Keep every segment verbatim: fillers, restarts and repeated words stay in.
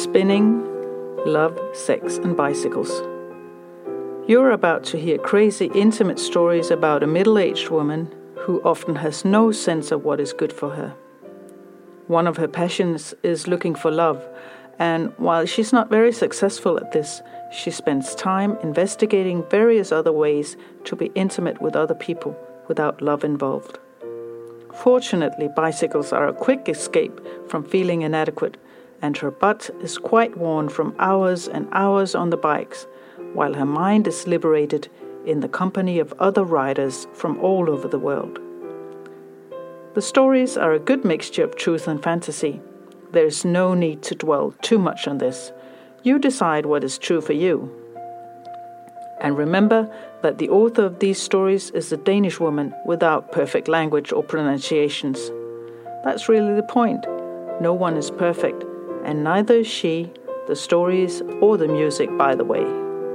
Spinning, Love, Sex and Bicycles. You're about to hear crazy, intimate stories about a middle-aged woman who often has no sense of what is good for her. One of her passions is looking for love, and while she's not very successful at this, she spends time investigating various other ways to be intimate with other people without love involved. Fortunately, bicycles are a quick escape from feeling inadequate, and her butt is quite worn from hours and hours on the bikes, while her mind is liberated in the company of other riders from all over the world. The stories are a good mixture of truth and fantasy. There is no need to dwell too much on this. You decide what is true for you. And remember that the author of these stories is a Danish woman without perfect language or pronunciations. That's really the point. No one is perfect, and neither is she, the stories, or the music, by the way.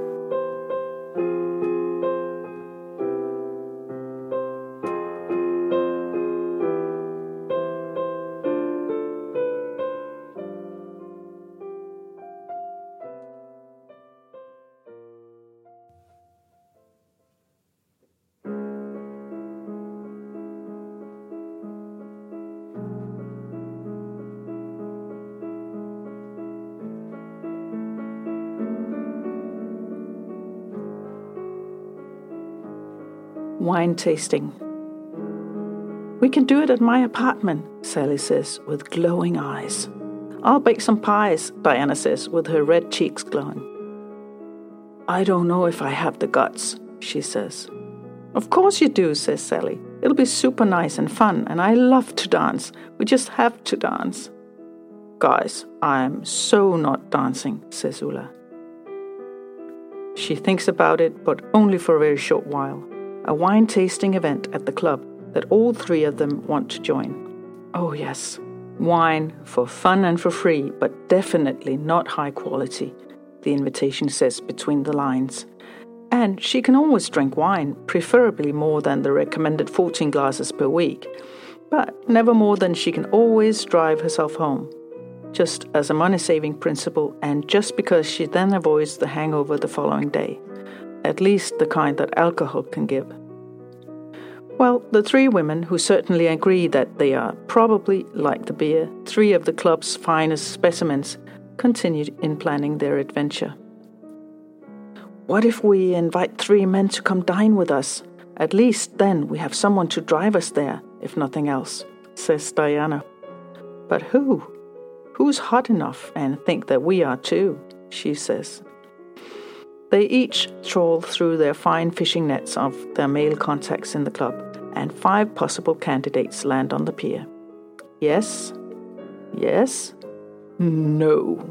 Wine tasting. We can do it at my apartment, Sally says with glowing eyes. I'll bake some pies, Diana says with her red cheeks glowing. I don't know if I have the guts, she says. Of course you do, says Sally. It'll be super nice and fun, and I love to dance. We just have to dance. Guys, I'm so not dancing, says Ulla. She thinks about it, but only for a very short while. A wine tasting event at the club that all three of them want to join. Oh yes, wine for fun and for free, but definitely not high quality, the invitation says between the lines. And she can always drink wine, preferably more than the recommended fourteen glasses per week, but never more than she can always drive herself home, just as a money-saving principle and just because she then avoids the hangover the following day. At least the kind that alcohol can give. Well, the three women, who certainly agree that they are probably, like the beer, three of the club's finest specimens, continued in planning their adventure. What if we invite three men to come dine with us? At least then we have someone to drive us there, if nothing else, says Diana. But who? Who's hot enough and think that we are too, she says. They each trawl through their fine fishing nets of their male contacts in the club, and five possible candidates land on the pier. Yes, yes, no,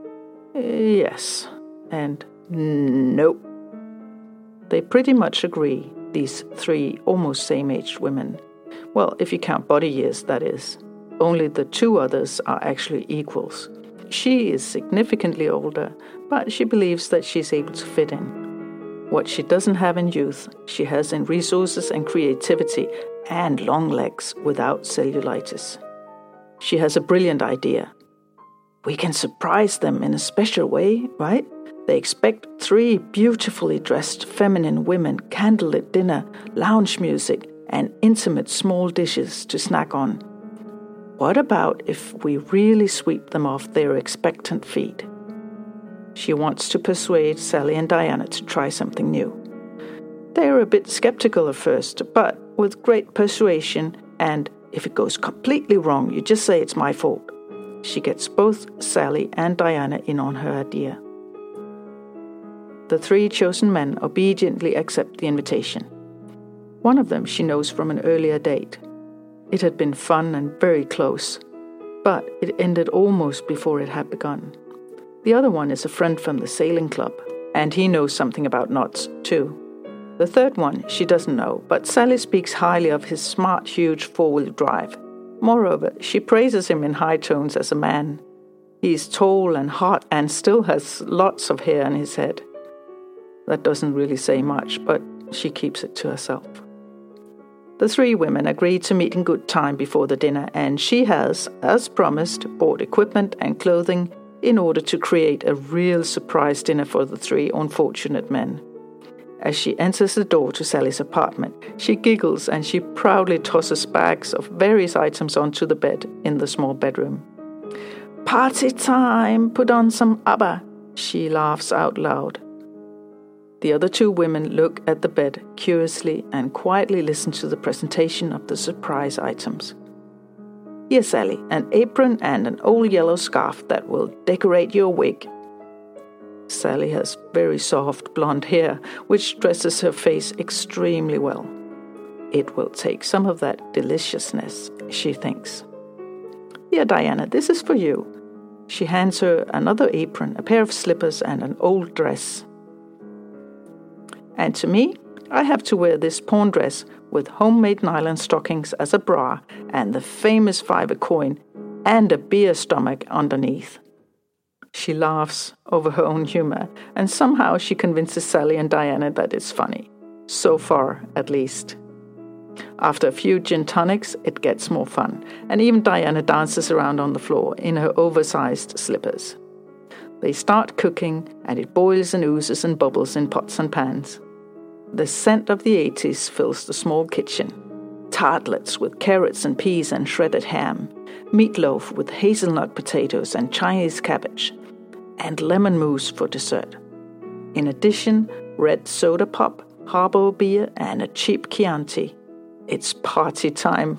yes, and nope. They pretty much agree, these three almost same-aged women. Well, if you count body years, that is. Only the two others are actually equals. She is significantly older, but she believes that she's able to fit in. What she doesn't have in youth, she has in resources and creativity and long legs without cellulitis. She has a brilliant idea. We can surprise them in a special way, right? They expect three beautifully dressed feminine women, candlelit dinner, lounge music, and intimate small dishes to snack on. What about if we really sweep them off their expectant feet? She wants to persuade Sally and Diana to try something new. They are a bit skeptical at first, but with great persuasion, and if it goes completely wrong, you just say it's my fault. She gets both Sally and Diana in on her idea. The three chosen men obediently accept the invitation. One of them she knows from an earlier date. It had been fun and very close, but it ended almost before it had begun. The other one is a friend from the sailing club, and he knows something about knots, too. The third one she doesn't know, but Sally speaks highly of his smart, huge four-wheel drive. Moreover, she praises him in high tones as a man. He's tall and hot and still has lots of hair on his head. That doesn't really say much, but she keeps it to herself. The three women agreed to meet in good time before the dinner, and she has, as promised, bought equipment and clothing in order to create a real surprise dinner for the three unfortunate men. As she enters the door to Sally's apartment, she giggles and she proudly tosses bags of various items onto the bed in the small bedroom. "Party time! Put on some ABBA!" she laughs out loud. The other two women look at the bed curiously and quietly listen to the presentation of the surprise items. "Here, Sally, an apron and an old yellow scarf that will decorate your wig." Sally has very soft blonde hair, which dresses her face extremely well. It will take some of that deliciousness, she thinks. "Here, Diana, this is for you." She hands her another apron, a pair of slippers, and an old dress. "And to me, I have to wear this pawn dress with homemade nylon stockings as a bra and the famous fiver coin and a beer stomach underneath." She laughs over her own humor, and somehow she convinces Sally and Diana that it's funny. So far, at least. After a few gin tonics, it gets more fun, and even Diana dances around on the floor in her oversized slippers. They start cooking, and it boils and oozes and bubbles in pots and pans. The scent of the eighties fills the small kitchen. Tartlets with carrots and peas and shredded ham, meatloaf with hazelnut potatoes and Chinese cabbage, and lemon mousse for dessert. In addition, red soda pop, harbor beer, and a cheap Chianti. It's party time.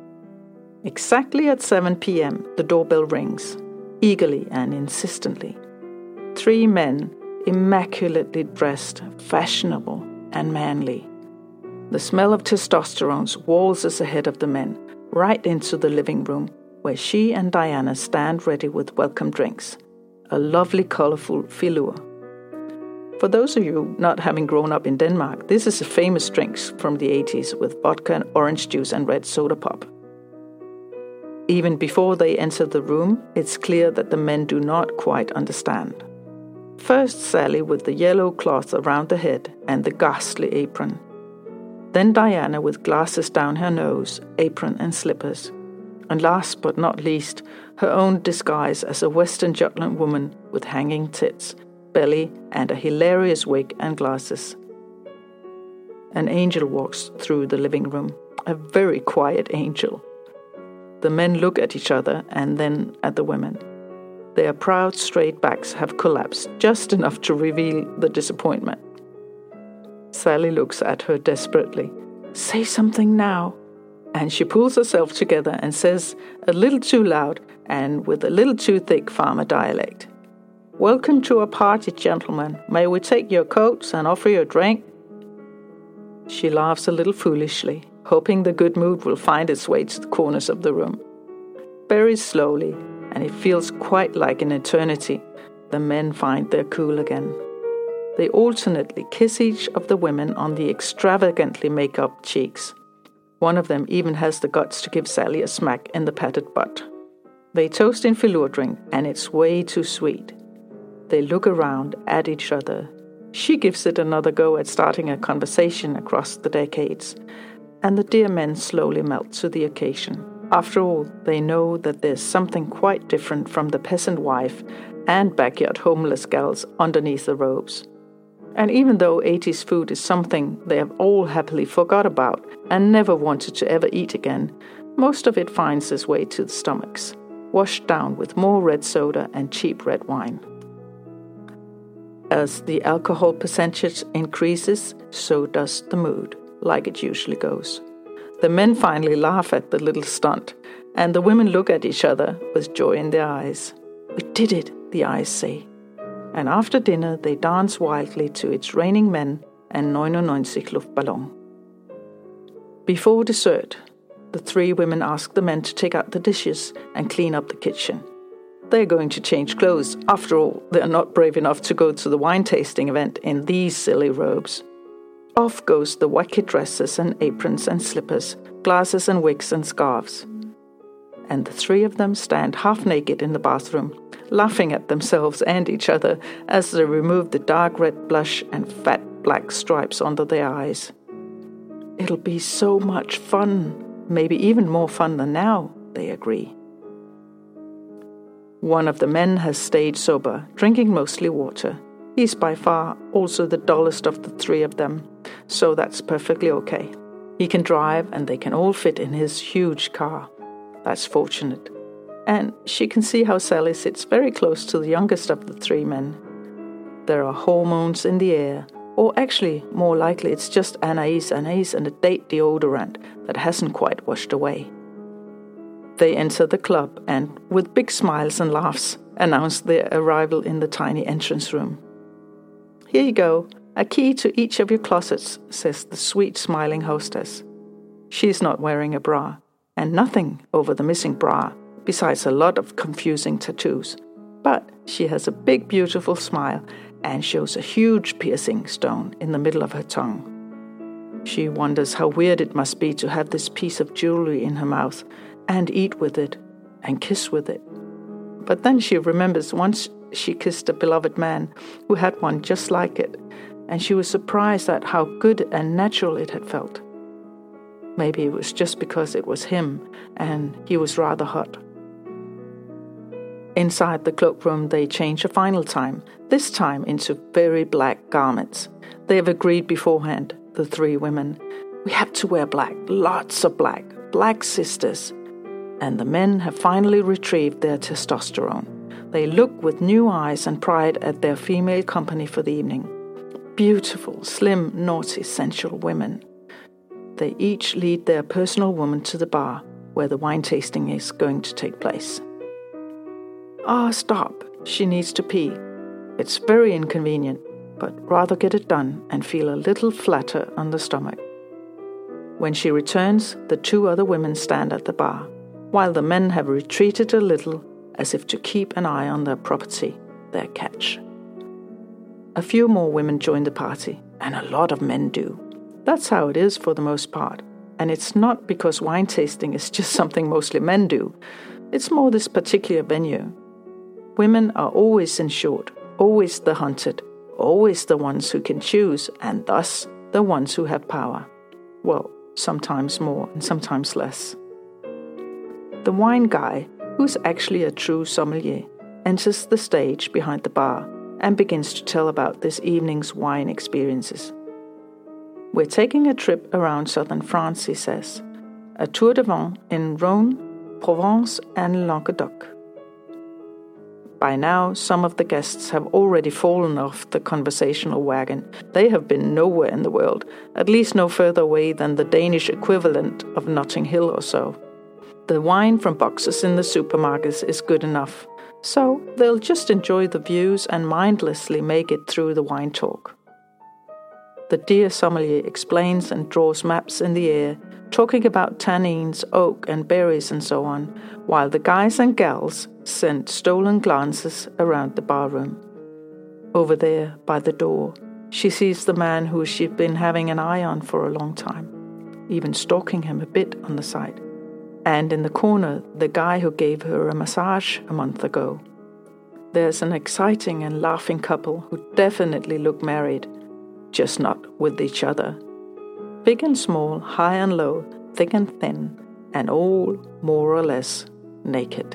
Exactly at seven p.m., the doorbell rings, eagerly and insistently. Three men, immaculately dressed, fashionable, and manly. The smell of testosterone waltzes ahead of the men, right into the living room, where she and Diana stand ready with welcome drinks. A lovely, colorful filur. For those of you not having grown up in Denmark, this is a famous drink from the eighties with vodka and orange juice and red soda pop. Even before they enter the room, it's clear that the men do not quite understand. First Sally with the yellow cloth around the head and the ghastly apron. Then Diana with glasses down her nose, apron and slippers. And last but not least, her own disguise as a Western Jutland woman with hanging tits, belly, and a hilarious wig and glasses. An angel walks through the living room, a very quiet angel. The men look at each other and then at the women. Their proud straight backs have collapsed just enough to reveal the disappointment. Sally looks at her desperately. "Say something now." And she pulls herself together and says, a little too loud and with a little too thick farmer dialect, "Welcome to our party, gentlemen. May we take your coats and offer you a drink?" She laughs a little foolishly, hoping the good mood will find its way to the corners of the room. Very slowly, and it feels quite like an eternity, the men find their cool again. They alternately kiss each of the women on the extravagantly make-up cheeks. One of them even has the guts to give Sally a smack in the padded butt. They toast in filur drink, and it's way too sweet. They look around at each other. She gives it another go at starting a conversation across the decades, and the dear men slowly melt to the occasion. After all, they know that there's something quite different from the peasant wife and backyard homeless gals underneath the robes. And even though eighties food is something they have all happily forgot about and never wanted to ever eat again, most of it finds its way to the stomachs, washed down with more red soda and cheap red wine. As the alcohol percentage increases, so does the mood, like it usually goes. The men finally laugh at the little stunt, and the women look at each other with joy in their eyes. "We did it," the eyes say. And after dinner they dance wildly to It's Raining Men and ninety-nine Luftballon. Before dessert, the three women ask the men to take out the dishes and clean up the kitchen. They're going to change clothes. After all, they're not brave enough to go to the wine tasting event in these silly robes. Off goes the wacky dresses and aprons and slippers, glasses and wigs and scarves. And the three of them stand half naked in the bathroom, laughing at themselves and each other as they remove the dark red blush and fat black stripes under their eyes. It'll be so much fun, maybe even more fun than now, they agree. One of the men has stayed sober, drinking mostly water. He's by far also the dullest of the three of them, so that's perfectly okay. He can drive and they can all fit in his huge car. That's fortunate. And she can see how Sally sits very close to the youngest of the three men. There are hormones in the air, or actually, more likely it's just Anais Anais and a date deodorant that hasn't quite washed away. They enter the club and, with big smiles and laughs, announce their arrival in the tiny entrance room. "Here you go, a key to each of your closets," says the sweet smiling hostess. She's not wearing a bra, and nothing over the missing bra, besides a lot of confusing tattoos. But she has a big beautiful smile and shows a huge piercing stone in the middle of her tongue. She wonders how weird it must be to have this piece of jewelry in her mouth and eat with it and kiss with it. But then she remembers once she kissed a beloved man who had one just like it, and she was surprised at how good and natural it had felt. Maybe it was just because it was him and he was rather hot. Inside the cloakroom, they change a final time, this time into very black garments. They have agreed beforehand, the three women. We have to wear black, lots of black, black sisters. And the men have finally retrieved their testosterone. They look with new eyes and pride at their female company for the evening. Beautiful, slim, naughty, sensual women. They each lead their personal woman to the bar, where the wine tasting is going to take place. Ah, oh, stop, she needs to pee. It's very inconvenient, but rather get it done and feel a little flatter on the stomach. When she returns, the two other women stand at the bar, while the men have retreated a little, as if to keep an eye on their property, their catch. A few more women join the party, and a lot of men do. That's how it is for the most part, and it's not because wine tasting is just something mostly men do. It's more this particular venue. Women are always in short, always the hunted, always the ones who can choose, and thus the ones who have power. Well, sometimes more and sometimes less. The wine guy, who's actually a true sommelier, enters the stage behind the bar and begins to tell about this evening's wine experiences. We're taking a trip around southern France, he says. A tour de vin in Rhône, Provence and Languedoc. By now, some of the guests have already fallen off the conversational wagon. They have been nowhere in the world, at least no further away than the Danish equivalent of Notting Hill or so. The wine from boxes in the supermarkets is good enough, so they'll just enjoy the views and mindlessly make it through the wine talk. The dear sommelier explains and draws maps in the air, talking about tannins, oak and berries and so on, while the guys and gals send stolen glances around the barroom. Over there, by the door, she sees the man who she's been having an eye on for a long time, even stalking him a bit on the side. And in the corner, the guy who gave her a massage a month ago. There's an exciting and laughing couple who definitely look married, just not with each other. Big and small, high and low, thick and thin, and all more or less naked.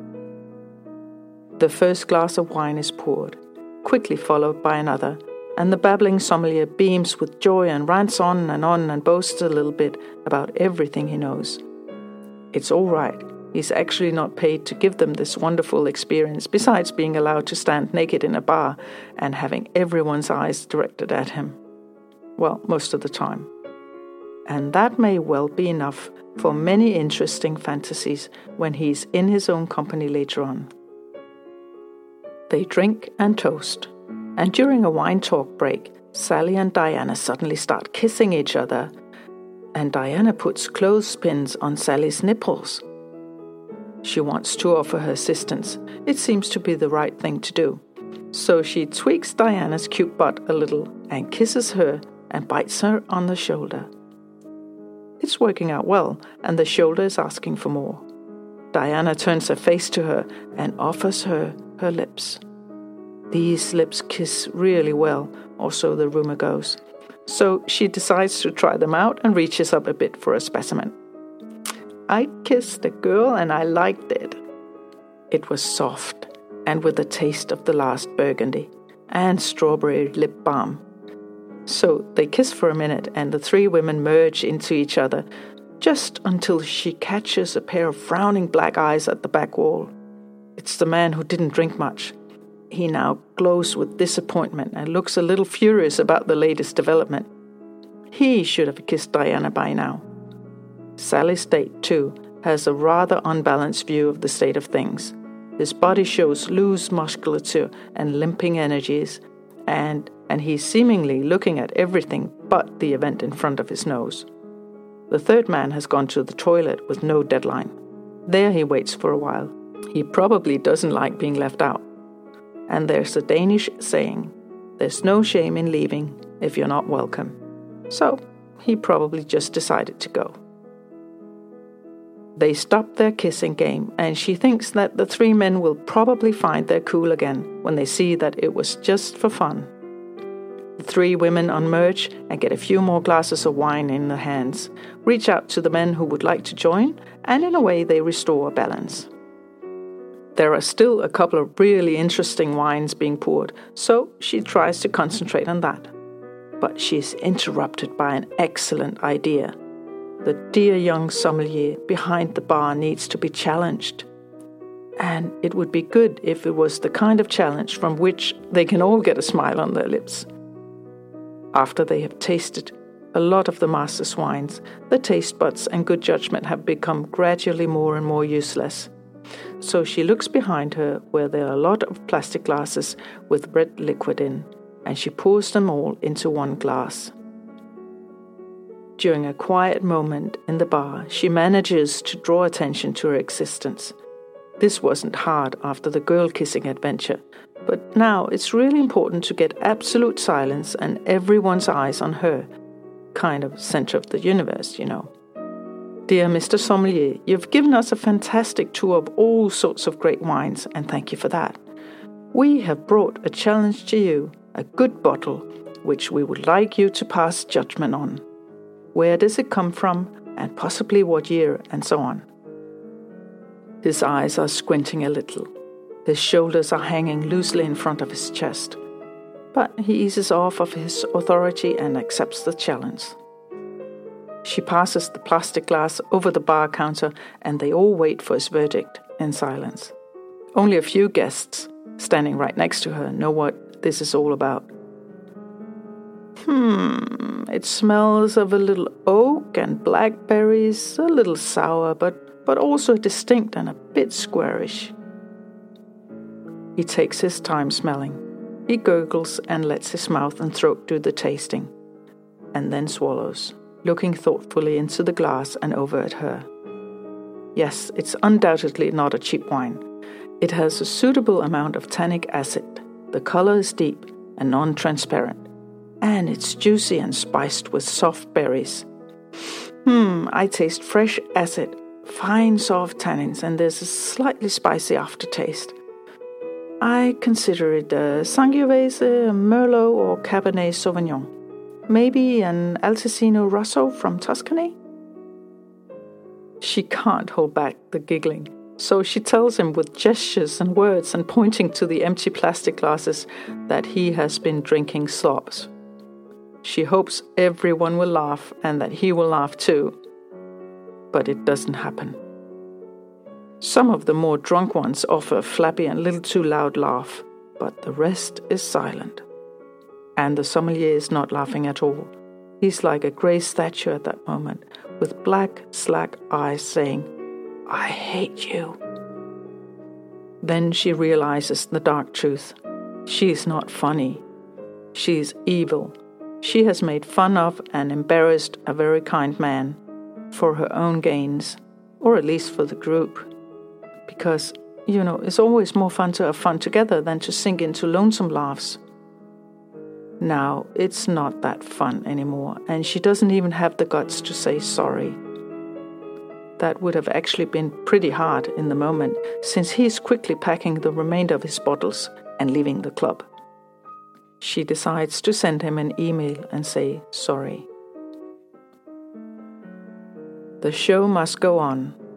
The first glass of wine is poured, quickly followed by another, and the babbling sommelier beams with joy and rants on and on and boasts a little bit about everything he knows. It's all right. He's actually not paid to give them this wonderful experience, besides being allowed to stand naked in a bar and having everyone's eyes directed at him. Well, most of the time. And that may well be enough for many interesting fantasies when he's in his own company later on. They drink and toast, and during a wine talk break, Sally and Diana suddenly start kissing each other, and Diana puts clothespins on Sally's nipples. She wants to offer her assistance. It seems to be the right thing to do. So she tweaks Diana's cute butt a little and kisses her and bites her on the shoulder. It's working out well, and the shoulder is asking for more. Diana turns her face to her and offers her her lips. These lips kiss really well, or so the rumor goes. So she decides to try them out and reaches up a bit for a specimen. I kissed a girl and I liked it. It was soft, and with a taste of the last Burgundy and strawberry lip balm. So they kiss for a minute, and the three women merge into each other, just until she catches a pair of frowning black eyes at the back wall. It's the man who didn't drink much. He now glows with disappointment and looks a little furious about the latest development. He should have kissed Diana by now. Sally's date, too, has a rather unbalanced view of the state of things. His body shows loose musculature and limping energies, and, and he's seemingly looking at everything but the event in front of his nose. The third man has gone to the toilet with no deadline. There he waits for a while. He probably doesn't like being left out. And there's a Danish saying, "There's no shame in leaving if you're not welcome." So he probably just decided to go. They stop their kissing game, and she thinks that the three men will probably find their cool again when they see that it was just for fun. The three women unmerge and get a few more glasses of wine in their hands, reach out to the men who would like to join, and in a way they restore balance. There are still a couple of really interesting wines being poured, so she tries to concentrate on that. But she's interrupted by an excellent idea. The dear young sommelier behind the bar needs to be challenged. And it would be good if it was the kind of challenge from which they can all get a smile on their lips. After they have tasted a lot of the master's wines, the taste buds and good judgment have become gradually more and more useless. So she looks behind her where there are a lot of plastic glasses with red liquid in, and she pours them all into one glass. During a quiet moment in the bar, she manages to draw attention to her existence. This wasn't hard after the girl-kissing adventure, but now it's really important to get absolute silence and everyone's eyes on her. Kind of center of the universe, you know. Dear Mister Sommelier, you've given us a fantastic tour of all sorts of great wines, and thank you for that. We have brought a challenge to you, a good bottle, which we would like you to pass judgment on. Where does it come from, and possibly what year, and so on. His eyes are squinting a little. His shoulders are hanging loosely in front of his chest. But he eases off of his authority and accepts the challenge. She passes the plastic glass over the bar counter, and they all wait for his verdict in silence. Only a few guests, standing right next to her, know what this is all about. Hmm, it smells of a little oak and blackberries, a little sour, but, but also distinct and a bit squarish. He takes his time smelling. He gurgles and lets his mouth and throat do the tasting, and then swallows, looking thoughtfully into the glass and over at her. Yes, it's undoubtedly not a cheap wine. It has a suitable amount of tannic acid. The color is deep and non-transparent, and it's juicy and spiced with soft berries. Hmm, I taste fresh acid, fine soft tannins, and there's a slightly spicy aftertaste. I consider it a Sangiovese, a Merlot, or Cabernet Sauvignon. Maybe an Altesino Rosso from Tuscany? She can't hold back the giggling, so she tells him with gestures and words and pointing to the empty plastic glasses that he has been drinking slops. She hopes everyone will laugh and that he will laugh too. But it doesn't happen. Some of the more drunk ones offer a flappy and little too loud laugh, but the rest is silent. And the sommelier is not laughing at all. He's like a grey statue at that moment, with black, slack eyes saying, "I hate you." Then she realizes the dark truth. She's not funny. She's evil. She has made fun of and embarrassed a very kind man for her own gains, or at least for the group. Because, you know, it's always more fun to have fun together than to sink into lonesome laughs. Now, it's not that fun anymore, and she doesn't even have the guts to say sorry. That would have actually been pretty hard in the moment, since he's quickly packing the remainder of his bottles and leaving the club. She decides to send him an email and say sorry. The show must go on,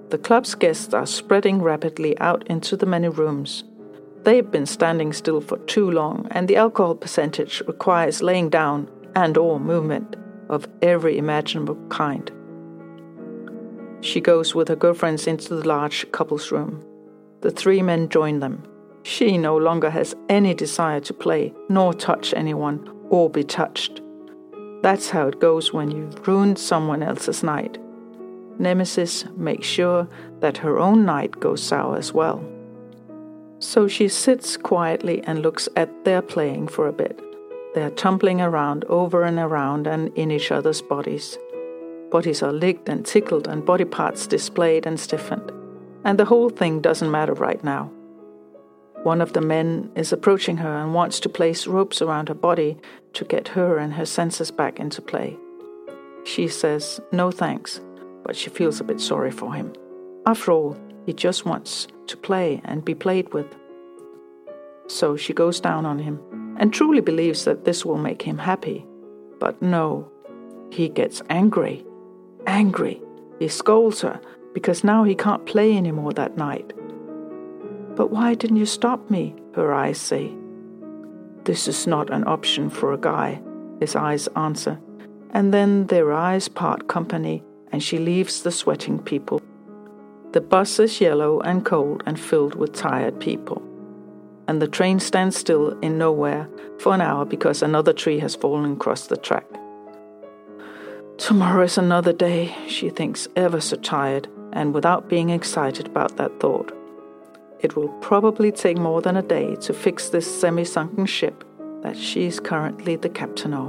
The club's guests are spreading rapidly out into the many rooms. They've been standing still for too long, and the alcohol percentage requires laying down and or movement of every imaginable kind. She goes with her girlfriends into the large couples room. The three men join them. She no longer has any desire to play, nor touch anyone, or be touched. That's how it goes when you've ruined someone else's night. Nemesis makes sure that her own night goes sour as well. So she sits quietly and looks at their playing for a bit. They're tumbling around, over and around, and in each other's bodies. Bodies are licked and tickled, and body parts displayed and stiffened. And the whole thing doesn't matter right now. One of the men is approaching her and wants to place ropes around her body to get her and her senses back into play. She says no thanks, but she feels a bit sorry for him. After all, he just wants to play and be played with. So she goes down on him and truly believes that this will make him happy. But no, he gets angry. Angry. He scolds her because now he can't play anymore that night. But why didn't you stop me? Her eyes say. This is not an option for a guy, his eyes answer. And then their eyes part company and she leaves the sweating people. The bus is yellow and cold and filled with tired people. And the train stands still in nowhere for an hour because another tree has fallen across the track. Tomorrow is another day, she thinks, ever so tired, and without being excited about that thought. It will probably take more than a day to fix this semi-sunken ship that she is currently the captain of.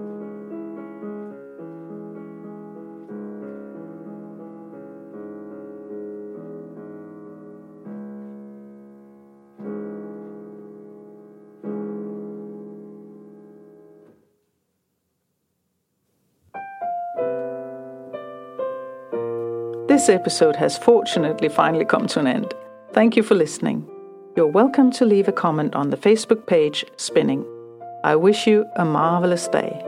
This episode has fortunately finally come to an end. Thank you for listening. You're welcome to leave a comment on the Facebook page Spinning. I wish you a marvelous day.